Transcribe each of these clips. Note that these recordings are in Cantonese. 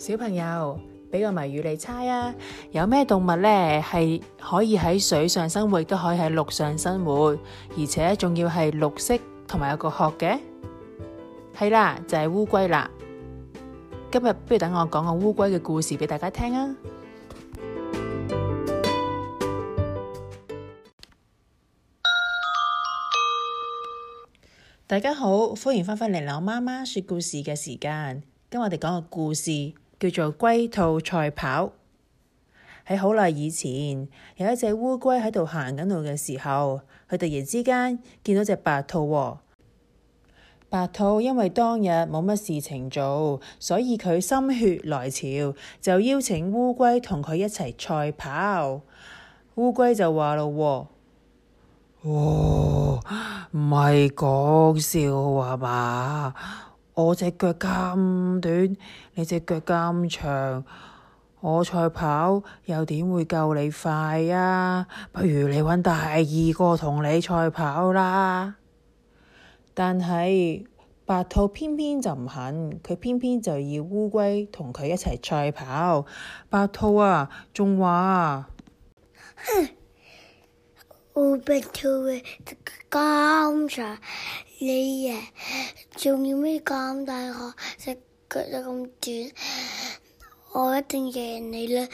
小朋友，俾個謎語你猜啊！有咩動物呢係可以喺水上生活，都可以喺陸上生活，而且仲要係綠色同埋有個殼嘅？係啦，就係烏龜啦。今日不如等我講個烏龜嘅故事俾大家聽啊！大家好，歡迎翻返嚟我媽媽說故事嘅時間。今日我哋講個故事叫做龜兔賽跑。喺好耐以前，有一隻烏龜喺度行緊路嘅時候，佢突然之間見到隻白兔喎。白兔因為當日冇乜事情做，所以佢心血來潮，就邀請烏龜同佢一齊賽跑。烏龜就話咯，唔係講笑話嘛？我隻腳咁短，你隻腳咁長，我賽跑又點會夠你快啊？不如你搵第二個同你賽跑啦。但係白兔偏偏就唔肯，佢偏偏就要烏龜同佢一齊賽跑。白兔啊，仲話我白兔咁長，你仲要咩咁大個，隻腳又咁短，我一定贏你啦！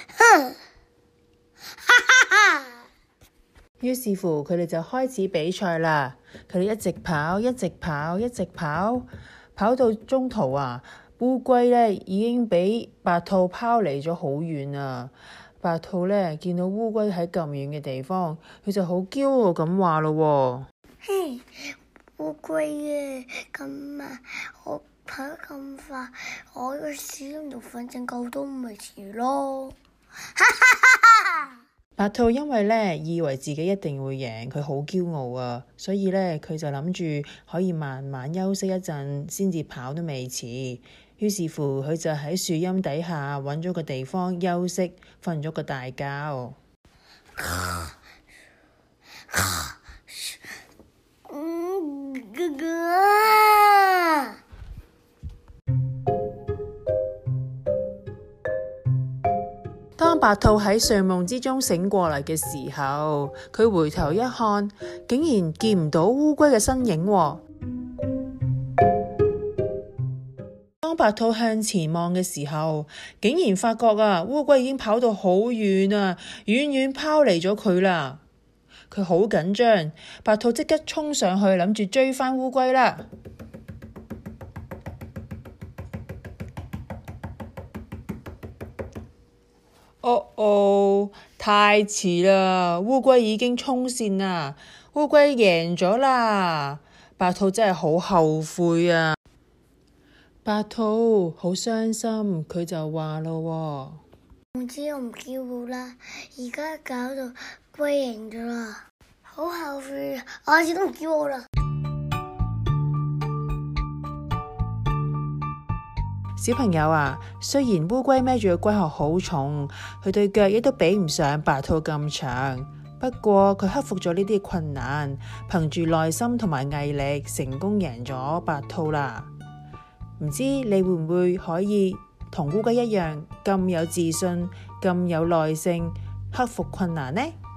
於是乎，佢哋就開始比賽啦。佢哋一直跑，一直跑，一直跑，跑到中途啊，烏龜呢已經俾白兔拋離咗好遠啊。白兔呢見到烏龜喺咁遠嘅地方，佢就好驕傲咁話咯， 嘿，烏龜啊，咁慢，我跑得咁快，我個屎窿度反正夠都咪遲咯。 白兔因為呢以為自己一定會贏，佢好驕傲啊，所以呢，佢就諗住可以慢慢休息一陣先至跑都未遲。於是乎，佢就喺樹蔭底下揾咗個地方休息，瞓咗個大覺。當白兔喺睡夢之中醒過嚟嘅時候，佢回頭一看，竟然見唔到烏龜嘅身影喎。當白兔向前望嘅時候，竟然發覺啊，烏龜已經跑到好遠啊，遠遠拋離咗佢啦。佢好緊張，白兔即刻衝上去諗住追返烏龜啦。太遲啦！烏龜已經衝線啦，烏龜贏咗啦！白兔真係好後悔啊！白兔好傷心，佢就話咯， 唔知我唔驕傲啦，而家搞到龜贏咗啦，好後悔啊！我始終唔驕傲啦。 小朋友啊，雖然烏龜孭住個龜殼好重，佢對腳亦都比唔上白兔咁長，不過佢克服咗呢啲困難，憑住耐心同埋毅力，成功贏咗白兔啦。唔知你會唔會可以同烏龜一樣咁有自信、咁有耐性，克服困難呢？